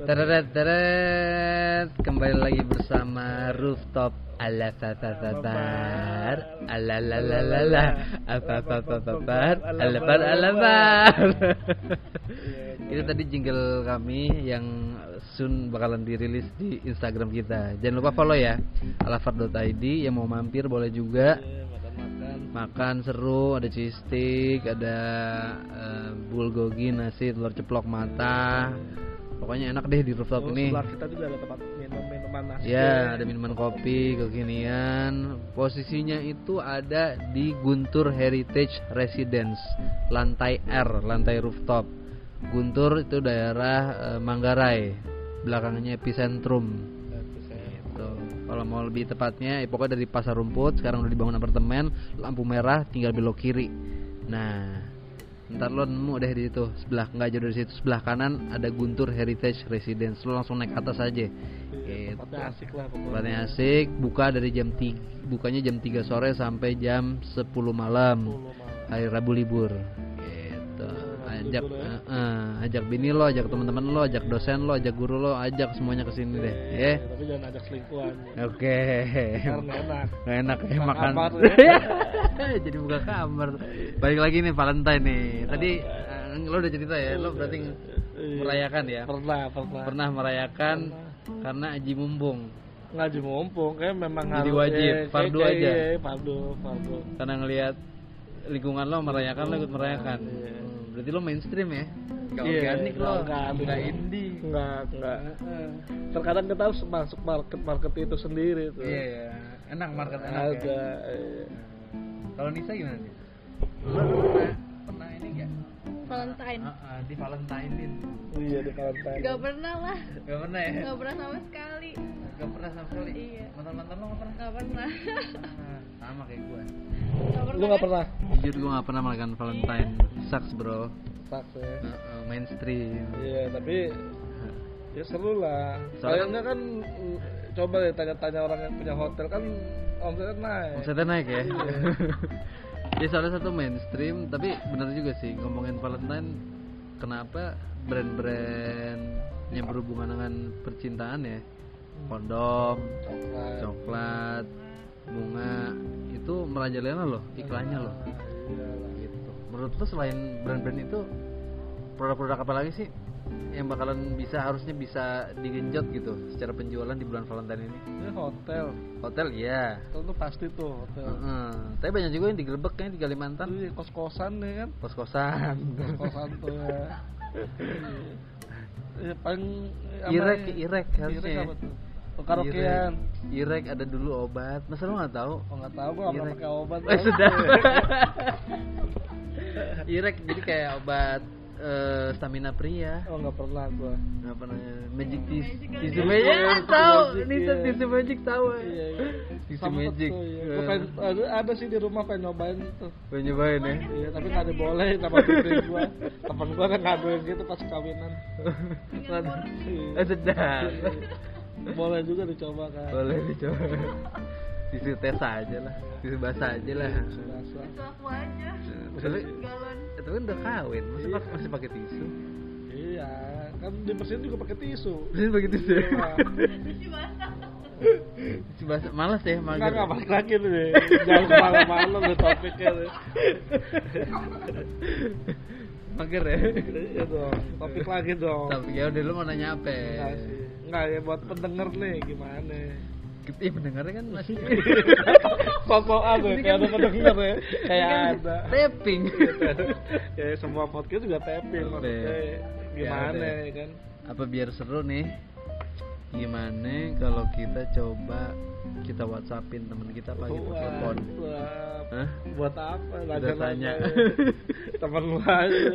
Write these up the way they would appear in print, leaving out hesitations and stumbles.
Teret, kembali lagi bersama Rooftop ala fafafabar ala la la la la afafafabar alabar. Itu tadi jingle kami yang soon bakalan dirilis di Instagram kita. Jangan lupa follow ya, alafar.id. Yang mau mampir boleh juga. Makan seru, ada cheese stick, ada bulgogi, nasi, telur ceplok mata. Pokoknya enak deh di rooftop ini. Sebelah kita juga ada tempat minuman nasi. Ya, ada minuman kopi kekinian. Posisinya itu ada di Guntur Heritage Residence, lantai R, lantai rooftop. Guntur itu daerah Manggarai, belakangnya Epicentrum. Gitu. Kalau mau lebih tepatnya, pokoknya dari Pasar Rumput. Sekarang udah dibangun apartemen, lampu merah, tinggal belok kiri. Nah, ntar lo nemu deh di situ, sebelah nggak jauh dari situ, sebelah kanan ada Guntur Heritage Residence. Lo langsung naik atas aja. Gitu. Tempatnya asik lah pokoknya. Tempatnya asik, buka dari jam 3, bukanya jam 3 sore sampai jam 10 malam. Hari Rabu libur. Gitu. Ajak bini lo, ajak teman-teman lo, ajak dosen lo, ajak guru lo, ajak semuanya ke sini deh, ya. Tapi jangan ajak selingkuhan. Oke. Karena enak. Nggak enak ya makan. Kamar, Jadi buka kamar. Balik lagi nih Valentine nih. Tadi lo udah cerita ya, lo berarti merayakan ya? Pernah merayakan karena Aji Mumpung. Ngaji mumpung kayak memang jadi harus wajib, fardu aja. Fardu. Karena ngelihat lingkungan lo merayakan, lo ikut merayakan. Berarti lo mainstream ya? Gak organik lo, gak indie. Enggak. Terkadang kita harus masuk market itu sendiri tuh. Iya, enak market enak ada. Ya. Kalau Nisa gimana sih? Lo pernah ini nggak? Valentine. Di Valentinein. Iya, di Valentine. Gak pernah lah. Gak pernah ya? Gak pernah sama sekali. Gak pernah sama sekali. Iya. Mantan-mantan lo gak pernah? Gak pernah. Sama kayak gue. Lu enggak pernah? Jujur gue gak pernah merayakan Valentine. Sucks bro. Sucks ya. Mainstream. Iya, tapi ya seru lah. Soalnya Soalnya kan coba deh tanya-tanya orang yang punya hotel kan omsetnya naik. Omsetnya naik ya. Ya soalnya satu mainstream, tapi benar juga sih ngomongin Valentine. Kenapa brand-brand yang berhubungan dengan percintaan ya, kondom, coklat, bunga itu merajalela loh iklannya loh. Gitu. Menurut lo selain brand-brand itu produk-produk apa lagi sih yang bakalan harusnya bisa digenjot gitu secara penjualan di bulan Valentine ini? Ini hotel ya. Hotel tuh pasti tuh hotel. Tapi banyak juga yang digerebek kayaknya di Kalimantan. Iya, kos-kosan nih kan. Kos-kosan Tuh ya. Ya paling Irek harusnya. Karaokean. Irek ada dulu obat. Masa lo nggak tahu? Oh nggak tahu, gua nggak pernah pakai obat. Sudah. Irek jadi kayak obat stamina pria. Oh nggak pernah gua. Nggak pernah. Magic tisu magic tahu. Ini tisu magic tahu. Iya. Tisu magic. Ada sih di rumah pengen nyobain tuh. Pengen nyobain ya? Iya tapi nggak dibolehin sama istri gua. Temen gua kan ngaduin gitu pas kawinan. Sedap. Boleh juga dicoba kan. Boleh dicoba. Tisu tes aja lah, tisu basah aja lah. Tisu aku aja. Galon. Itu kan udah kawin, masih pakai tisu. Iya, kan dibersihin juga pakai tisu. Bersihin pakai tisu. Tisu basah. Tisu basah, malas ya, mager. Enggak balik lagi nih. Jangan kemana-mana nih topiknya nih. Mager ya. Iya dong, topik lagi dong. Tapi ya udah, lu mau nanya apa? Enggak ya buat pendengar nih gimana? Pendengarnya kan masih sosokan ya, kayak ada pendengar ya. Kayak ada tapping. Ya semua podcast juga tapping maksudnya. Gimana ya kan? Apa biar seru nih? Gimana kalau kita coba kita WhatsAppin teman kita pagi telepon? Hah? Buat apa? Kita tanya. Temen lu aja.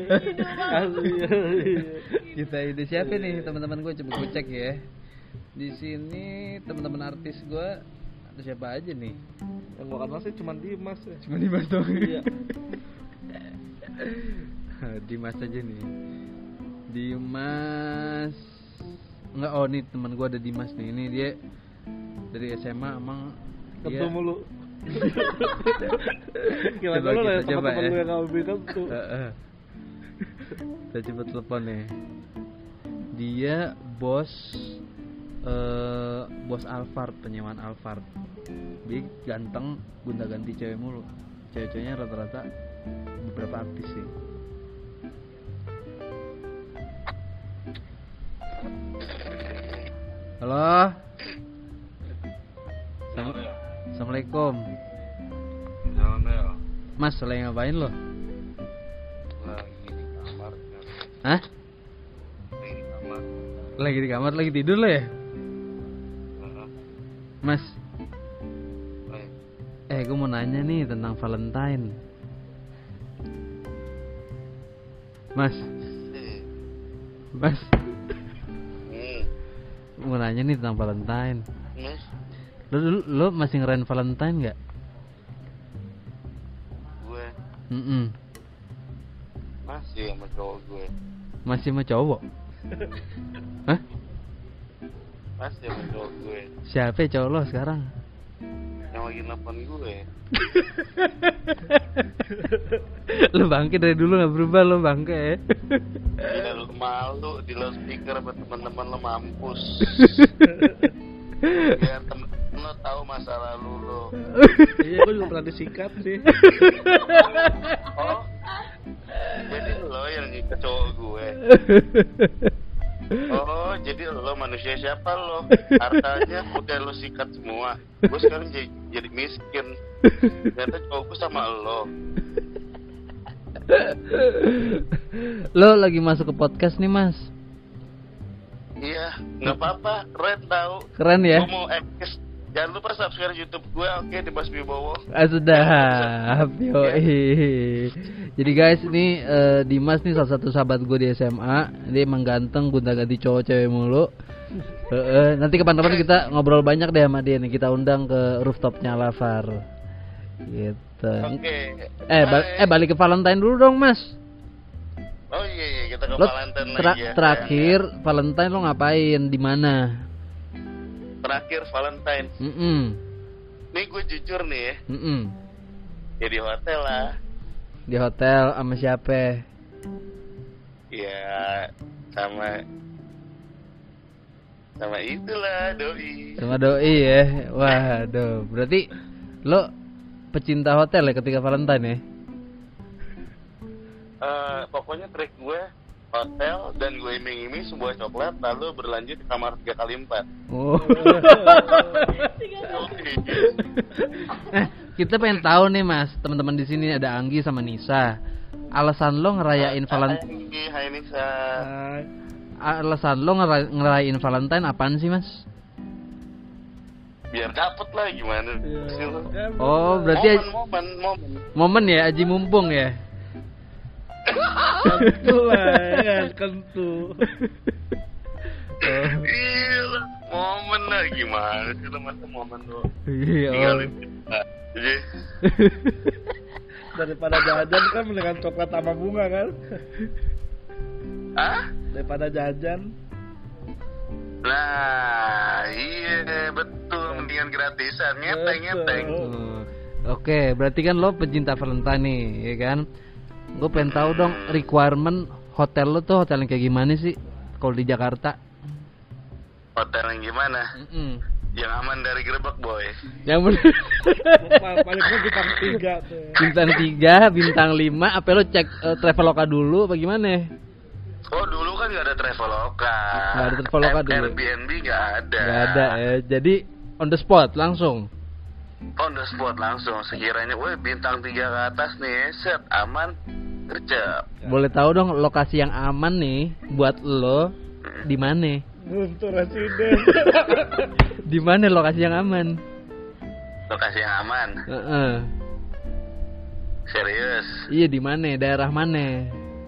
Kita ide siapa nih teman-teman gue, coba gue cek ya. Di sini teman-teman artis gue ada siapa aja nih? Yang gue kenal sih cuma Dimas ya. Cuma Dimas doang. Iya. Dimas aja nih. Dimas. Enggak, oh nih teman gue ada Dimas nih. Ini dia dari SMA emang ketemu lu. Gimana lu lah coba teman-teman lu yang kamu bilang tuh. Kita coba telepon nih. Dia bos Alphard, penyewaan Alphard. Dia ganteng, gonta-ganti cewek mulu. Cewek-ceweknya rata-rata beberapa artis sih. Halo. Assalamualaikum. Jalan Bel. Mas, lagi ngapain lo? Lagi di kamar. Hah? Lagi di kamar. Lagi di kamar, lagi tidur lo ya? Mas, gue mau nanya nih tentang Valentine. Mas, mau nanya nih tentang Valentine. Lo masih ngerayain Valentine nggak? Gue masih sama cowok gue. Masih sama cowok? Hah? Masih sama cowok gue. Siapa cowok lo sekarang? Yang lagi nelfon gue. Lo bangke dari dulu nggak berubah lo bangke. Ya lu malu di loudspeaker buat teman-teman lo mampus. Biar temen lo tahu masa lalu lo. Iya, gue juga pernah disikat sih. Oh, jadi lo yang ke cowok gue. Oh, jadi lo manusia siapa lo? Hartanya udah lo sikat semua. Gue sekarang jadi miskin. Ternyata cowok gue sama lo. Lo lagi masuk ke podcast nih mas? Iya, nggak apa-apa, keren tau. Keren ya? Gue mau eksis. Jangan lupa subscribe YouTube gue, oke, di Mas Bibowo. Sudah, yoi. Jadi guys, ini Dimas nih salah satu sahabat gue di SMA. Dia emang ganteng, gonta-ganti cowok cewek mulu. Nanti kapan-kapan kita ngobrol banyak deh sama dia nih. Kita undang ke rooftopnya Lavar. Gitu. Oke. Balik ke Valentine dulu dong mas. Oh iya, kita ke Lo Valentine lagi ya. terakhir Valentine lo ngapain? Di mana? Terakhir Valentine. Nih gue jujur nih ya. Ya di hotel lah. Di hotel sama siapa? Ya sama itulah doi. Sama doi ya. Waduh, berarti lo pecinta hotel ya ketika Valentine ya? Pokoknya trik gue hotel dan gue iming-iming sebuah coklat lalu berlanjut ke kamar 3x4. Oh. Kita pengen tahu nih mas, teman-teman di sini ada Anggi sama Nisa. Alasan lo ngerayain Valentine? Hai Nisa. Alasan lo ngerayain Valentine apaan sih mas? Biar dapet lah gimana sih lo? Oh berarti momen ya, aji mumpung ya. Kentu lah, kentu. Iya, momen lah gimana sih lo masa momen lo? Iya. Jadi daripada jajan kan mendingan coklat sama bunga kan? Daripada jajan. Nah, iya betul, mendingan gratisan, ngeteng. Oke, berarti kan lo pecinta Valentine nih, ya kan? Gue pengen tahu dong requirement hotel lo tuh hotel yang kayak gimana sih kalau di Jakarta? Hotel yang gimana? Yang aman dari gerbek boy. Yang bener. Palingnya bintang 3 tuh. Bintang 3, bintang 5. Apa lo cek Traveloka dulu? Bagaimana? Oh dulu kan nggak ada Traveloka. Nggak ada Traveloka dulu. Airbnb nggak ada. Nggak ada ya. Jadi on the spot langsung. On the spot langsung. Sekiranya, woi bintang 3 ke atas nih, set aman, gercep. Boleh tahu dong lokasi yang aman nih buat lo di mana? Guntur Residen. Di mana lokasi yang aman? Lokasi yang aman. Serius? Iya di mana? Daerah mana?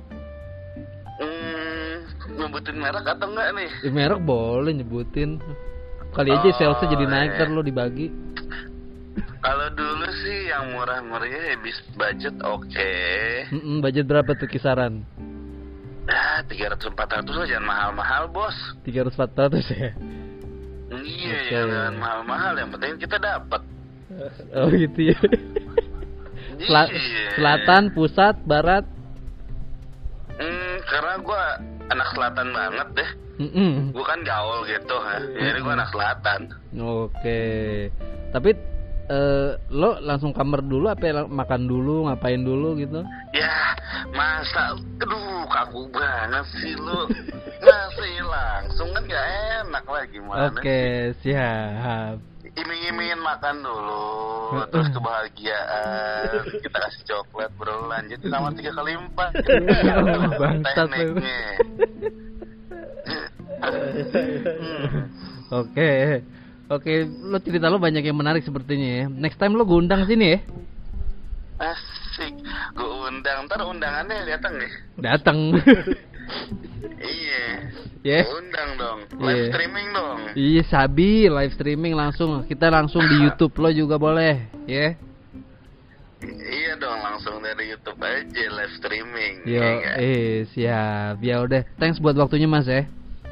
Nyebutin merek atau enggak nih? Merek boleh nyebutin. Kali aja salesnya jadi naik ter lo dibagi. Kalau dulu sih yang murah-murahnya habis budget oke. Budget berapa tuh kisaran? 300-400 lah, jangan mahal-mahal bos. 300-400 ya? Iya, jangan mahal-mahal, yang penting kita dapat. Oh gitu ya. Selatan, pusat, barat? karena gue anak selatan banget deh. Gue kan gaul gitu ya. Jadi gue anak selatan. Oke. Tapi lo langsung kamar dulu apa makan dulu, ngapain dulu gitu? Ya masa, aduh kaku banget sih lu. Masih langsung kan gak enak lah gimana. Oke, siap. Iming-imingin makan dulu, terus kebahagiaan, kita kasih coklat, bro, lanjut sama 3 kali 4. Bangsat lu. Oke, lo cerita lo banyak yang menarik sepertinya ya. Next time lo gue undang sini ya. Asik, gue undang, ntar undangannya datang nih. Datang. Iya. Yeah. Undang dong, live streaming dong. Iya, sabi live streaming langsung. Kita langsung di YouTube lo juga boleh, ya. Iya dong, langsung dari YouTube aja live streaming. Yo, siap. Ya udah, thanks buat waktunya Mas ya.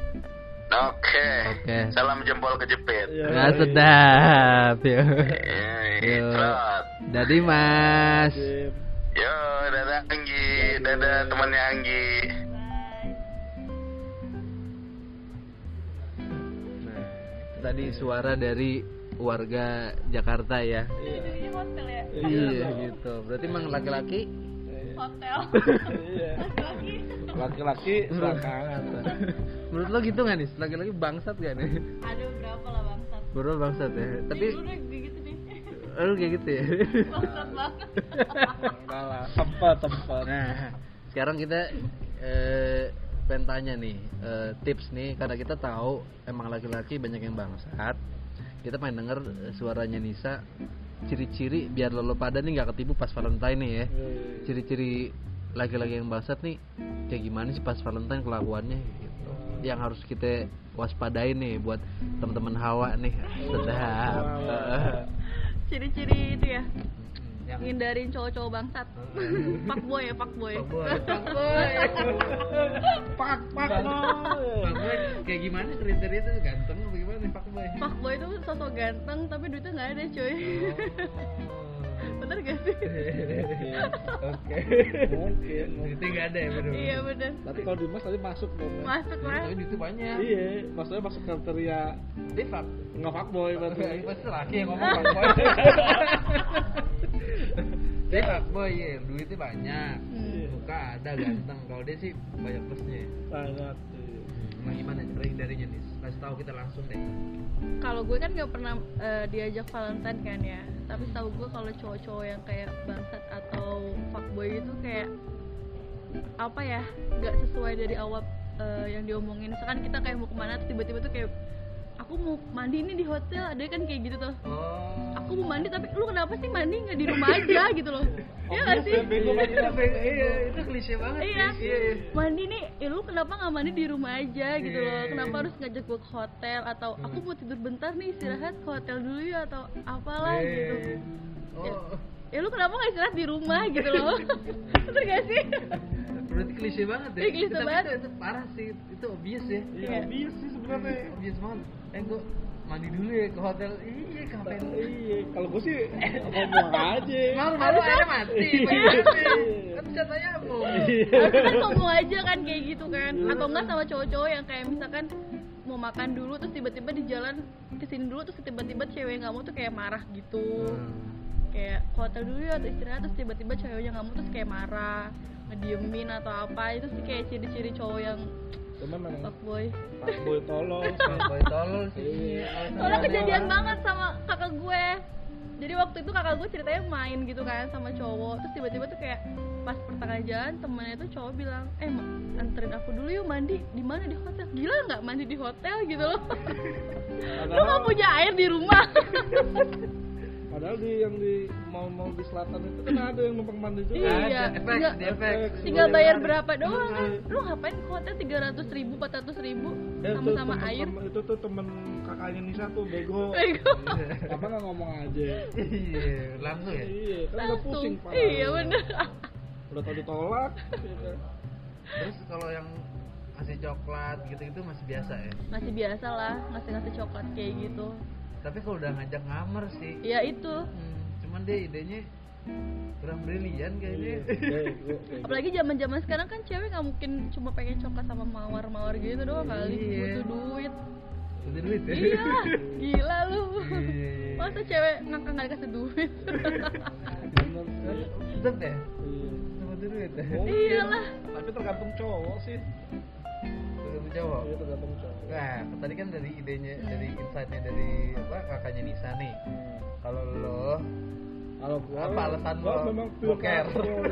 Oke. Salam jempol kejepit. Ya, sedap. Yo. Yo. Dadi Mas. Yo, dadah Anggi, dadah temannya Anggi. Nah, tadi suara dari warga Jakarta ya. Di hotel ya? Iya gitu. Berarti emang laki-laki Hotel. Laki-laki belakangan. menurut lo gitu nggak nih? Laki-laki bangsat gak nih? Ada berapa lah bangsat? Berapa bangsat ya? Tapi udah gitu nih. lu kayak gitu ya? Bangsat banget. Salah. Tempat. Nah, sekarang kita pengen tanya nih tips nih, karena kita tahu emang laki-laki banyak yang bangsat. Kita pengen denger suaranya Nisa, ciri-ciri biar lo pada nih nggak ketipu pas Valentine nih ya. Ciri-ciri laki-laki yang bangsat nih kayak gimana sih pas Valentine kelakuannya gitu. Yang harus kita waspadai nih buat teman-teman Hawa nih. Sedap. Ciri-ciri itu ya. Ngindarin cowok-cowok bangsat. Fuckboy ya, fuckboy. Fuckboy kayak gimana kriteria tuh, ganteng apa gimana nih fuckboy? Fuckboy itu sosok ganteng tapi duitnya nggak ada cuy. Bener gak sih? Oke. Mungkin. Duitnya nggak ada ya bener. Iya bener. Tapi kalau Dimas tadi masuk dong. Masuk lah. Tapi duitnya banyak. Iya, maksudnya masuk kriteria Dia fuck. nggak fuckboy berarti. Pasti laki yang ngomong fuckboy. Dia fuckboy ya, duitnya banyak. Muka ada ganteng. Kalau dia sih banyak plusnya. Banyak. Nah gimana cara hindarinya nih? Kasih tahu kita langsung deh. Kalau gue kan nggak pernah diajak Valentine kan ya. Tapi tahu gue kalau cowok-cowok yang kayak bangsat atau fuckboy itu kayak apa ya, nggak sesuai dari awal yang diomongin. Misalkan kita kayak mau kemana terus tiba-tiba tuh kayak aku mau mandi nih di hotel, ada kan kayak gitu tuh. Aku mau mandi tapi lu kenapa sih mandi nggak di rumah aja gitu loh? Iya nggak sih? Iya, itu klise banget. Iya. Mandi nih, lu kenapa nggak mandi di rumah aja gitu loh? Kenapa harus ngajak gue ke hotel atau aku mau tidur bentar nih istirahat ke hotel dulu ya atau apalah gitu. Ya lu kenapa nggak istirahat di rumah gitu loh? Betul gak sih? Berarti klise banget ya. Iya, klise Tapi banget. Itu parah sih, itu obvious ya. Iya, obvious sih sebenarnya. Obvious banget. Gue mandi dulu ya ke hotel. Iya, ngapain? Iya, kalau gue sih ngomong aja. Malu airnya mati. Kan bisa tanya aku. Harusnya kan ngomong aja kan kayak gitu kan. Atau enggak sama cowok-cowok yang kayak misalkan mau makan dulu terus tiba-tiba di jalan kesini dulu terus tiba-tiba cewek nggak mau tuh kayak marah gitu. Kayak ke hotel dulu ya atau istirahat terus tiba-tiba ceweknya nggak mau terus kayak marah, ngediemin atau apa. Itu sih kayak ciri-ciri cowok yang fuckboy tolol. Fuckboy tolol sih. Soalnya kejadian banget sama kakak gue. Jadi waktu itu kakak gue ceritanya main gitu kan sama cowok. Terus tiba-tiba tuh kayak pas pertengahan jalan temennya tuh cowok bilang, anterin aku dulu yuk mandi. Di mana? Di hotel. Gila nggak mandi di hotel gitu loh. Lu nggak punya air di rumah. Padahal yang di mau di selatan itu kan ada yang numpang mandi juga. Iya. Efek. Tinggal bayar berapa doang kan? Lu ngapain ke hotel 300.000, 400.000 sama air? Itu tuh temen kakaknya Nisa tuh bego. Apa nggak ngomong aja? Iya, langsung ya. Iya, kan udah pusing pak. Iya bener. Udah tau ditolak. Terus kalau yang ngasih coklat gitu-gitu masih biasa ya? Masih biasa lah ngasih coklat kayak gitu. Tapi kalau udah ngajak ngamar sih. Ya itu. Cuman dia idenya kurang brilian kayaknya. Apalagi zaman-zaman sekarang kan cewek nggak mungkin cuma pengen coklat sama mawar-mawar gitu doang kali, Iya. butuh duit. Udah duit ya. Iya, gila lu. Iya. Masa cewek ngangkang nggak dikasih duit? Tetep ya. Sama duit ya. Iyalah. Tapi tergantung cowok sih. Tergantung cowok. Iya, tergantung cowok. Nah, tadi kan dari idenya, dari insight-nya dari apa kakaknya Nisa nih. Kalau lo Kalau gua Apa alasan gua lo memang boker?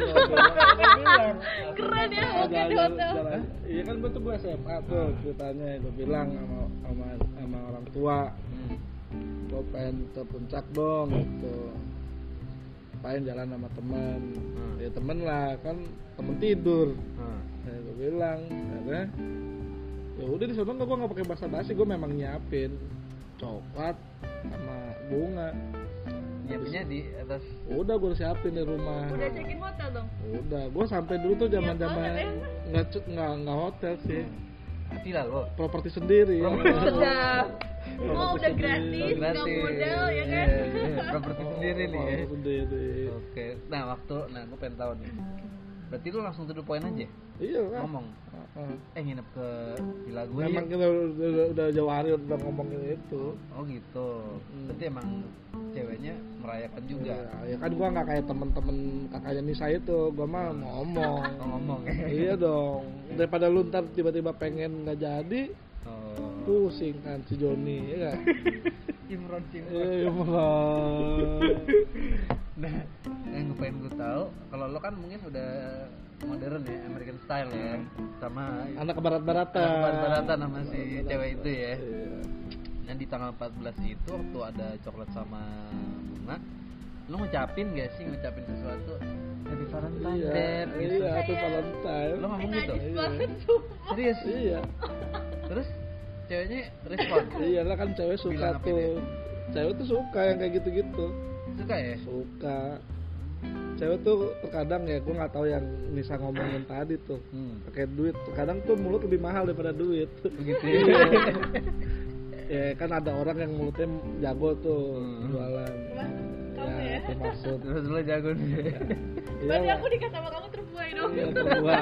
Keren ya, boker di hotel. Iya kan gua tuh gua SMA tuh ceritanya, gua bilang sama orang tua, gua pengen ke puncak dong gitu. Pengen jalan sama teman. Ya temen lah, kan temen tidur. Gua bilang, akhirnya ya udah di sana gua nggak pakai basa-basi, gua memang nyiapin coklat sama bunga. nyiapinnya di atas. Udah gue siapin di rumah. Udah check-in hotel dong? Udah, gue sampai dulu tuh zaman-zaman Niat banget nggak hotel sih, Villa lo. properti sendiri. Sedap. Oh, udah Properti gratis, sendiri. nggak modal ya kan? Iya, properti sendiri nih ya. Properti sendiri. Oke. Nah, gue pengen tahu nih. Berarti lu langsung to the point aja Iya kan. ngomong. Nginep ke villa gue. Memang kita udah jauh hari udah ngomongin itu. Oh gitu. Berarti emang ceweknya merayakan juga. Ya kan gua nggak kayak temen-temen kakaknya Nisa itu, gua mah ngomong. Ngomong. Iya dong. Daripada lu ntar tiba-tiba pengen nggak jadi, Oh. pusing kan si Joni, ya kan? Imron. Iya malah. Nah, yang pengen gue tahu, kalau lo kan mungkin udah modern ya, American style ya, sama Anak barat-baratan. barat-baratan sama si cewek itu ya. Iya. Nah di tanggal 14 itu waktu ada coklat sama bunga, lo ngucapin gak sih sesuatu Happy Valentine Iya, Dad gitu? iya, Happy Valentine. Lo ngomong gitu? Najis Iya. banget tuh. Serius? Iya. Terus ceweknya respon? Iya lah kan cewek suka Bilang apa tuh. dia? Cewek tuh suka yang kayak gitu-gitu. Suka ya? Suka. Cewek tuh terkadang ya, gue nggak tahu yang Nisa ngomongin tadi tuh. Pakai duit. Terkadang tuh mulut lebih mahal daripada duit. Begitu ya? Ya kan ada orang yang mulutnya jago tuh jualan. Kamu ya? Itu maksud. Terus lo jago nih. Berarti Iya. aku nikah sama kamu terbuai dong. Iya, terbuang.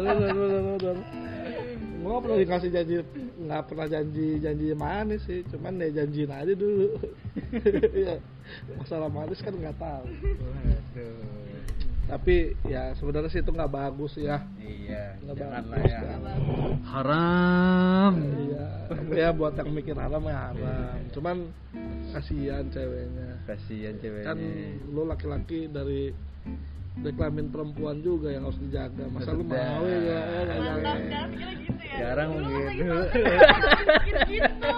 Gue nggak pernah dikasih janji, nggak pernah janji manis sih, cuman ya janjiin aja dulu. Iya, masalah manis kan nggak tahu. Waduh. Tapi ya sebenarnya sih itu nggak bagus ya. Iya, Nggak jangan lah bagus, ya. nggak Haram. Iya, ya buat yang mikir haram ya haram. Cuman kasihan ceweknya. Kasihan ceweknya. Kan lu laki-laki dari kelamin perempuan juga yang harus dijaga. Masa lu Betul. mau ya? Mantap, sekarang mikirnya gitu ya. Sekarang Dulu pas lagi gitu. pacaran, mikir gitu.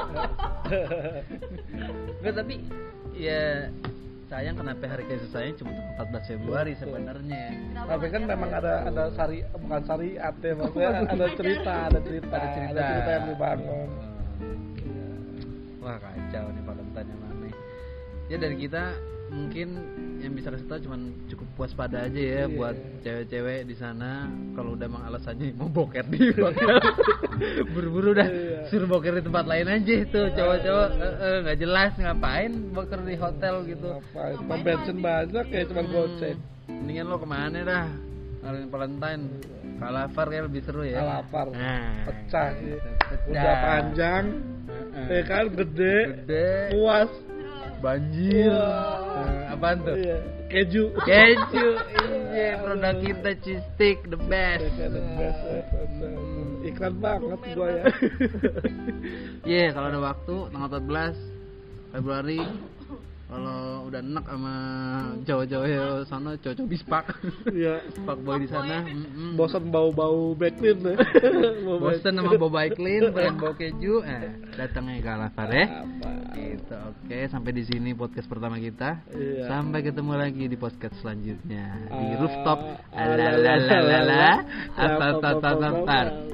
Enggak, tapi ya sayang kenapa hari kasih sayang cuma tanggal 14 Februari sebenarnya. Tapi kan memang ada bukan syariat ya, maksudnya ada cerita yang dibangun. Wah kacau nih Valentine yang mana. Ya dari kita mungkin yang bisa kasih tahu cuman cukup puas pada aja ya buat cewek-cewek di sana. Kalau udah emang alasannya mau boker di hotel, buru-buru dah suruh boker di tempat lain aja tuh cowok-cowok nggak jelas ngapain boker di hotel gitu. Ngapain? Pom bensin banyak kayak cuma goceng. Mendingan lo kemana dah? Hari Valentine Kalafar kayak lebih seru ya. Kalafar. Nah, Pecah sih. pecah. Udah panjang, ya kan gede, puas. Banjir. Wah. Nah, apaan tuh? Iya. Keju. Iya, produk kita cheese stick the best. The best. Iklan banget gua ya. Iya, kalau ada waktu tanggal 14 Februari kalau udah enak sama cowok-cowok ya sana, cowok-cowok bispak. Iya. Pak boy di sana. Bosan bau-bau backlin deh. Bosen sama bau baiklin, pengen bau keju, datangnya ke Kalafar ya. Apa? Gitu. Oke, sampai di sini podcast pertama kita. Iya. Sampai ketemu lagi di podcast selanjutnya di Ah, rooftop. alalalala,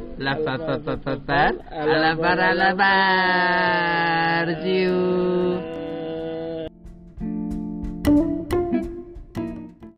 Alabar. See you.